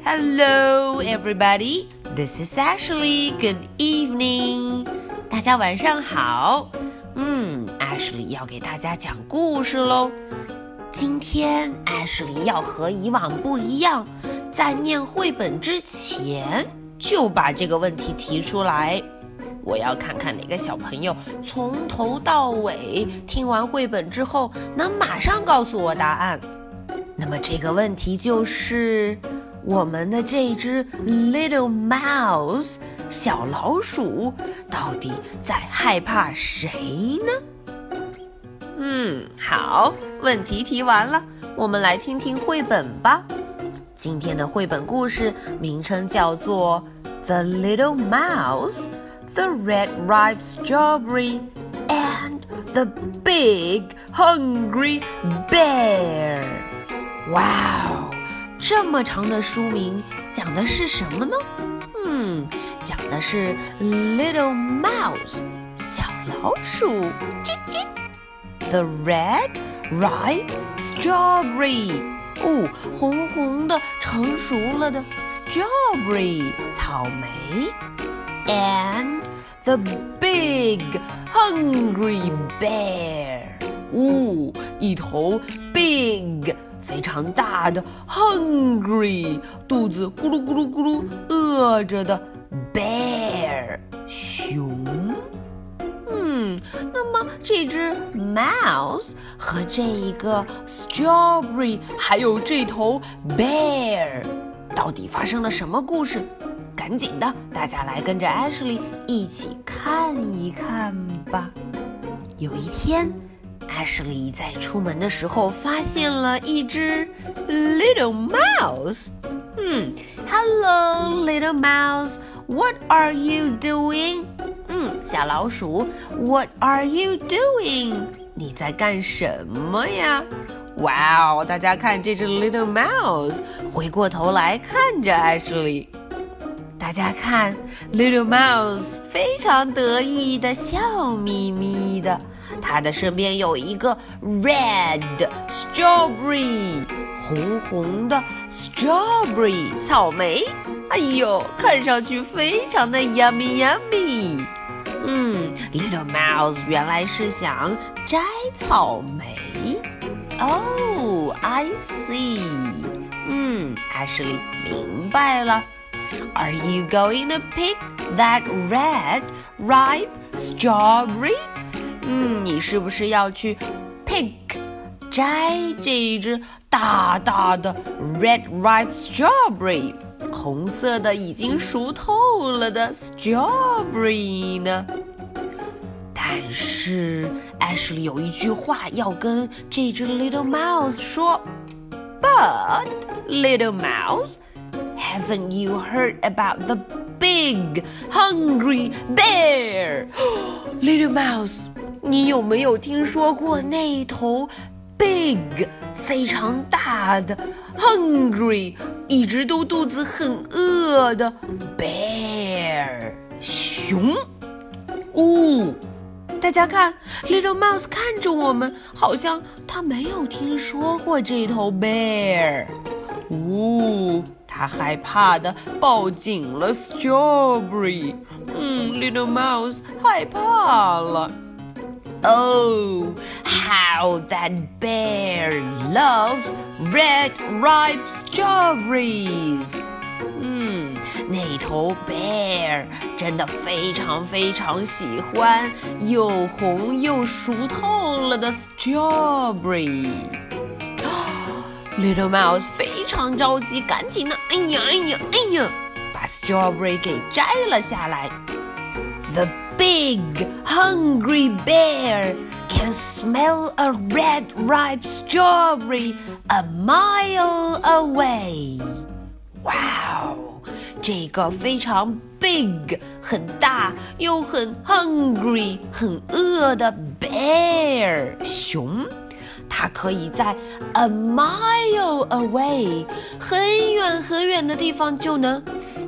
Hello, everybody. This is Ashley. Good evening. 大家晚上好。Ashley 要给大家讲故事喽。今天 Ashley 要和以往不一样，在念绘本之前就把这个问题提出来。我要看看哪个小朋友从头到尾听完绘本之后能马上告诉我答案。那么这个问题就是我们的这只 Little Mouse 小老鼠到底在害怕谁呢？好，问题提完了，我们来听听绘本吧。今天的绘本故事名称叫做 The Little Mouse, the Red Ripe Strawberry, and the Big Hungry Bear。 哇哦，这么长的书名讲的是什么呢？讲的是 Little Mouse 小老鼠叽叽 The Red Ripe Strawberry 红红的成熟了的 Strawberry 草莓 And the Big Hungry Bear 一头 Big非常大的 hungry 肚子咕噜咕噜咕噜饿着的 bear 熊。那么这只 mouse 和这一个 strawberry 还有这头 bear 到底发生了什么故事？赶紧的，大家来跟着 Ashley 一起看一看吧。有一天Ashley 在出门的时候发现了一只 Little Mouse。Hello, Little Mouse. What are you doing? 小老鼠 What are you doing? 你在干什么呀？哇哦，大家看这只 Little Mouse 回过头来看着 Ashley。大家看 Little Mouse 非常得意的笑眯眯的，它的身边有一个 Red Strawberry 红红的 Strawberry 草莓，哎呦，看上去非常的 yummy yummy。Little Mouse 原来是想摘草莓。Oh, I see. Ashley 明白了。Are you going to pick that red, ripe strawberry? 你是不是要去 pick 摘这一只大大的 red, ripe strawberry 红色的已经熟透了的 strawberry 呢？但是 Ashley 有一句话要跟这只 Little Mouse 说。But, Little Mouse,Haven't you heard about the big hungry bear? Little Mouse, 你有没有听说过那头 big 非常大的 hungry 一直都肚子很饿的 bear 熊？大家看 Little Mouse 看着我们，好像他没有听说过这头 bear。他害怕的抱紧了 Strawberry。Little Mouse 害怕了。Oh, how that bear loves red ripe strawberries. 那头 bear 真的非常非常喜欢又红又熟透了的 Strawberry。Little Mouse 非常着急，赶紧的，哎呀，把 Strawberry 给摘了下来。The big hungry bear can smell a red ripe strawberry a mile away. 哇哦，这个非常 big 很大又很 hungry 很饿的 bear 熊，它可以在 a mile away 很远很远的地方就能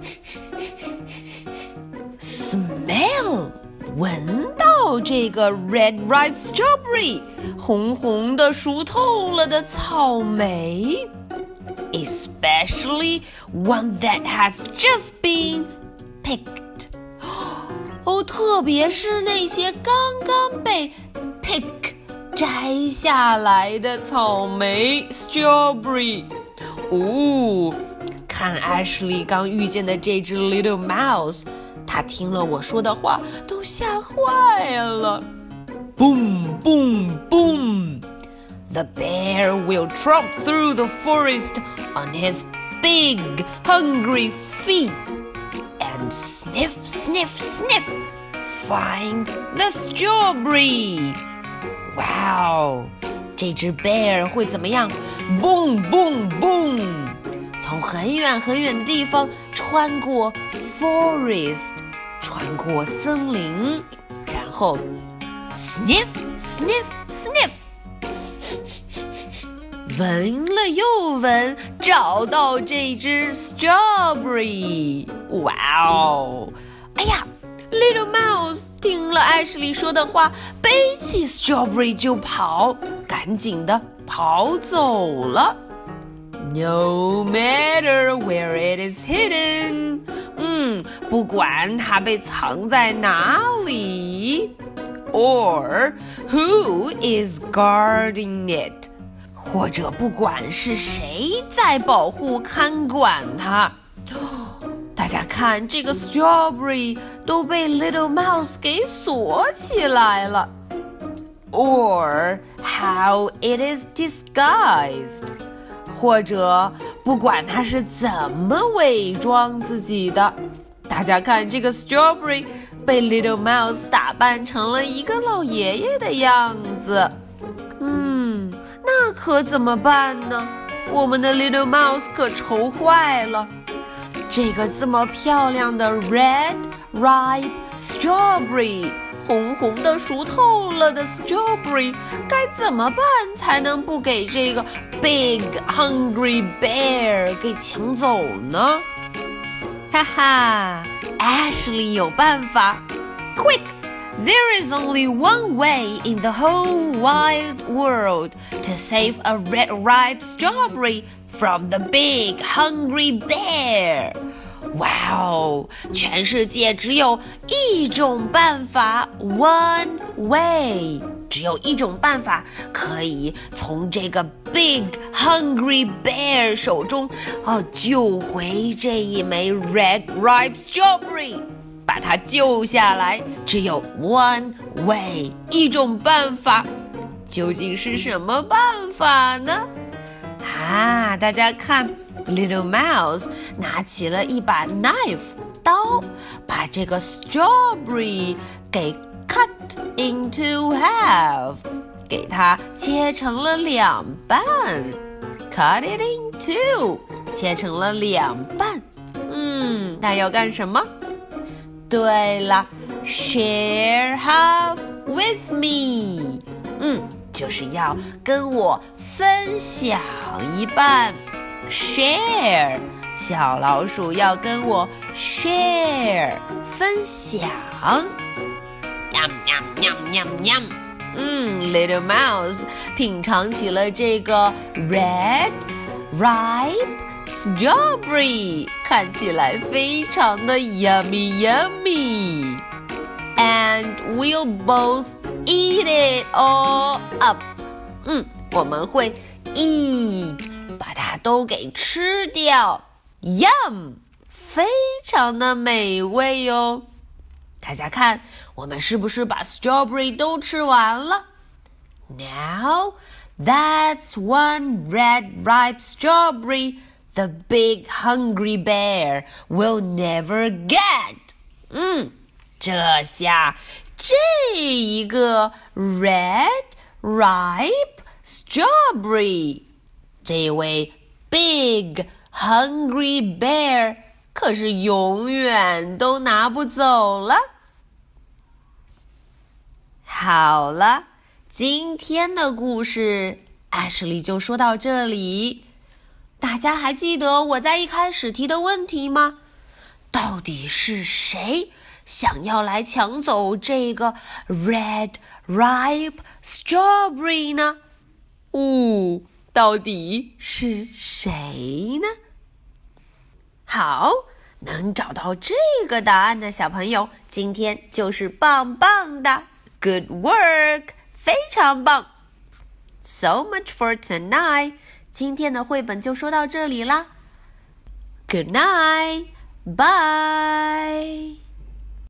smell 闻到这个 red ripe strawberry 红红的熟透了的草莓。 especially one that has just been picked. 哦，特别是那些刚刚被 pick 摘下来的草莓 strawberry。哦，看 Ashley 刚遇见的这只 Little Mouse， 他听了我说的话都吓坏了。Boom, boom, boom. The bear will tromp through the forest on his big, hungry feet and sniff, sniff, sniff, find the strawberry. Wow, 这只 bear 会怎么样 ？Boom, boom, boom. 从很远很远的地方穿过 forest， 穿过森林，然后 sniff, sniff, sniff。闻了又闻，找到这只 strawberry。哇哦！哎呀 ，Little Mouse 听了艾什莉说的话，背起 strawberry 就跑，赶紧的跑走了。No matter where it is hidden， 不管它被藏在哪里 ，or who is guarding it。或者不管是谁在保护看管它，大家看这个 strawberry 都被 Little Mouse 给锁起来了。Or how it is disguised， 或者不管它是怎么伪装自己的，大家看这个 strawberry 被 Little Mouse 打扮成了一个老爷爷的样子。那可怎么办呢？我们的 Little Mouse 可愁坏了。这个这么漂亮的 red ripe strawberry， 红红的熟透了的 strawberry， 该怎么办才能不给这个 big hungry bear 给抢走呢？哈哈 ，Ashley 有办法 ！Quick！There is only one way in the whole wide world to save a red ripe strawberry from the big hungry bear. 哇哦，全世界只有一种办法 ，one way， 只有一种办法可以从这个 big hungry bear 手中救回这一枚 red ripe strawberry。把它救下来，只有 one way， 一种办法。究竟是什么办法呢？大家看 Little Mouse 拿起了一把 knife 刀，把这个 strawberry 给 cut into half， 给它切成了两半。Cut it in two， 切成了两半。它要干什么？对了 ，share half with me， 就是要跟我分享一半 ，share， 小老鼠要跟我 share 分享。Little Mouse 品尝起了这个 red ripe strawberry， 看起来非常的 yummy yummy， and we'll both eat it all up。我们会 eat， 把它都给吃掉 ，yum， 非常的美味哦。大家看，我们是不是把 strawberry 都吃完了 ？Now that's one red ripe strawberry。The big hungry bear will never get。这下这一个 red ripe strawberry， 这位 big hungry bear 可是永远都拿不走了。好了，今天的故事Ashley就说到这里。大家还记得我在一开始提的问题吗？到底是谁想要来抢走这个 red ripe strawberry 呢？ 到底是谁呢？好，能找到这个答案的小朋友，今天就是棒棒的。Good work， 非常棒。So much for tonight， 今天的绘本就说到这里啦。Good night， bye。